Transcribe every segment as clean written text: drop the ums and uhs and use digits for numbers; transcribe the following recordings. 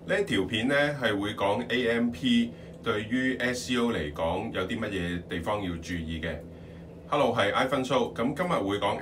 呢條片咧係會講 AMP 對於 SEO 嚟講有啲乜嘢地方要注意嘅。Hello， 係 iPhone Show，咁今日會講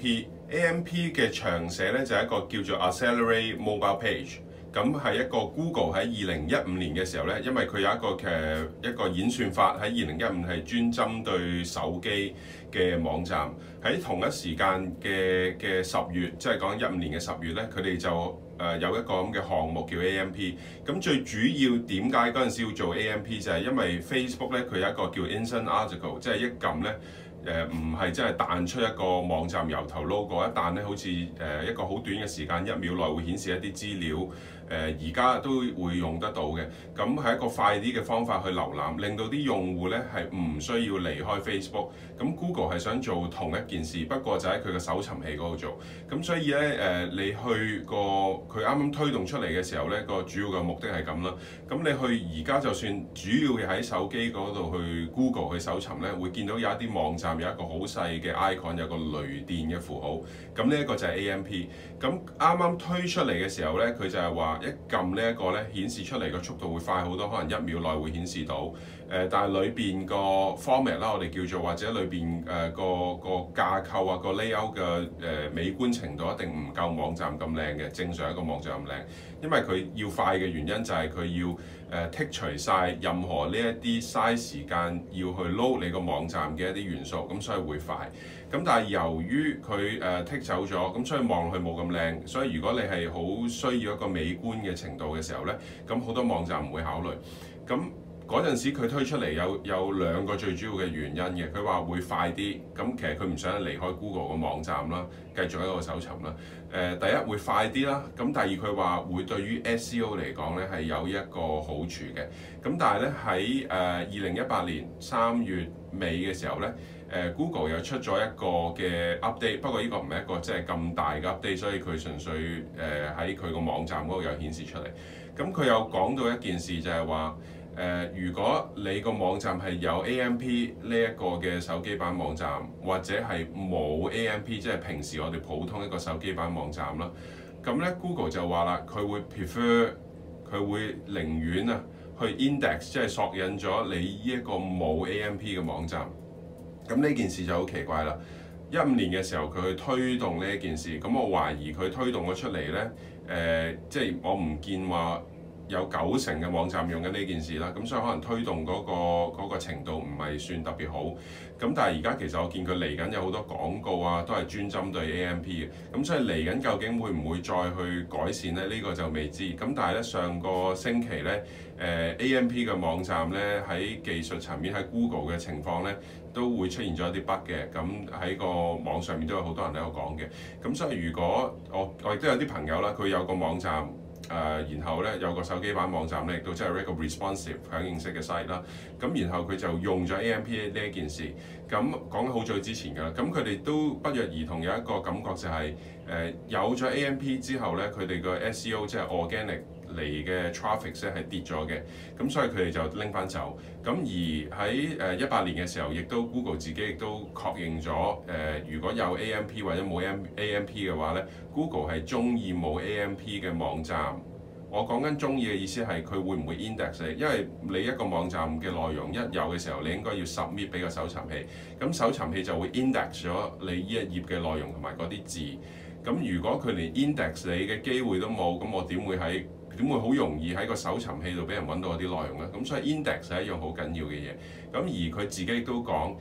AMP。AMP 嘅長寫咧就係一個叫做 Accelerate Mobile Page， 咁係一個 Google 喺2015年嘅時候咧，因為佢有一個演算法喺2015係專針對手機嘅網站，喺同一時間嘅10月，即係講15年嘅10月咧，佢哋就有一個咁嘅項目叫 AMP。咁最主要點解嗰陣時要做 AMP 就係因為 Facebook 咧佢有一個叫 Instant Article， 即係一撳咧。唔係真係彈出一個網站由頭撈過，一彈咧好似一個好短嘅時間，1秒內會顯示一啲資料。而家都會用得到嘅，咁係一個快啲嘅方法去瀏覽，令到啲用戶咧係唔需要離開 Facebook。咁 Google 係想做同一件事，不過就喺佢嘅搜尋器嗰度做。咁所以咧你去佢啱啱推動出嚟嘅時候咧，個主要嘅目的係咁啦。咁你去而家就算主要嘅喺手機嗰度去 Google 去搜尋咧，會見到有一啲網站有一個好細嘅 icon， 有個雷電嘅符號。咁呢一個就係 AMP。咁啱啱推出嚟嘅時候咧，佢就係話一撳呢一個咧，顯示出嚟個速度會快好多，可能1秒內會顯示到。但係裏邊個 format 啦，我哋叫做或者裏邊個架構啊，個 layout 嘅美觀程度一定唔夠網站咁靚嘅，正常一個網站咁靚。因為佢要快嘅原因就係佢要剔除晒任何呢一啲嘥時間要去 load 你個網站嘅一啲元素，咁所以會快。咁但係由於佢剔走咗，咁所以望落去冇咁靚。所以如果你係好需要一個美觀嘅程度嘅時候咧，咁好多網站唔會考慮。咁嗰陣時佢推出嚟有兩個最主要嘅原因嘅，佢話會快啲，咁其實佢唔想離開 Google 個網站啦，繼續喺度搜尋啦。第一會快啲啦，咁第二佢話會對於 SEO 嚟講咧係有一個好處嘅。咁但係咧喺2018年3月尾嘅時候咧，Google 又出咗一個嘅 update， 不過呢個唔係一個即係咁大嘅 update， 所以佢純粹喺佢個網站嗰度有顯示出嚟。咁佢有講到一件事就係話，如果你個網站係有 AMP 呢一個嘅手機版網站，或者係冇 AMP， 即係平時我哋普通一個手機版網站啦，咁咧 Google 就話啦，佢會 prefer， 佢會寧願啊去 index， 即係索引咗你呢一個冇 AMP 嘅網站。咁呢件事就好奇怪啦。15年嘅時候佢去推動呢一件事，咁我懷疑佢推動咗出嚟咧，即係我唔見話有90%嘅網站用緊呢件事啦，咁所以可能推動嗰個程度唔係算特別好。咁但係而家其實我見佢嚟緊有好多廣告啊，都係專針對 AMP 嘅。咁所以嚟緊究竟會唔會再去改善咧？呢個就未知。咁但係咧上個星期咧，AMP 嘅網站咧喺技術層面喺 Google 嘅情況咧都會出現咗一啲 bug 嘅。咁喺個網上面都有好多人喺度講嘅。咁所以如果我亦都有啲朋友啦，佢有個網站。然後咧有個手機版網站咧，亦都即係一個 responsive 響應式嘅 site 啦。咁然後佢就用咗 AMP 呢一件事。咁講緊好早之前㗎啦。咁佢哋都不約而同有一個感覺就係有咗 AMP 之後咧，佢哋個 SEO 即係 organic嚟嘅 traffic 咧係跌咗嘅。咁所以佢哋就拎翻走。咁而喺18年嘅時候，亦都 Google 自己亦都確認咗如果有 AMP 或者冇 AMP 嘅話咧 ，Google 係中意冇 AMP 嘅網站。我講緊中意嘅意思係佢會唔會 index 你？因為你一個網站嘅內容一有嘅時候，你應該要 submit 俾個搜尋器，咁搜尋器就會 index 咗你呢一頁嘅內容同埋嗰啲字。咁如果佢連 index 你嘅機會都冇，咁我點會好容易喺個搜尋器度俾人揾到嗰啲內容咧？咁所以 index 係一樣好緊要嘅嘢。咁而佢自己亦都講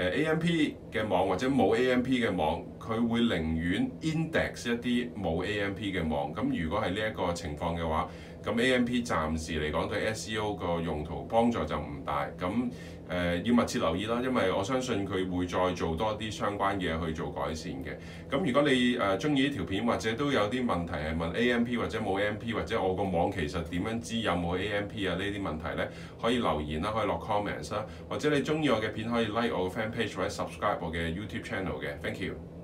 ，AMP 嘅網或者冇 AMP 嘅網，佢會寧願 index 一啲冇 AMP 嘅網。咁如果係呢一個情況嘅話，咁 AMP 暫時嚟講對 SEO 個用途幫助就唔大。咁要密切留意啦，因為我相信佢會再做多啲相關嘢去做改善嘅。咁如果你中意呢條片，或者都有啲問題係問 AMP 或者冇 AMP， 或者我個網其實點樣知有冇 AMP 啊呢啲問題咧，可以留言啦，可以落 comments 啦，或者你中意我嘅片可以 like 我嘅 fan page 或者 subscribe 我嘅 YouTube channel 嘅。Thank you。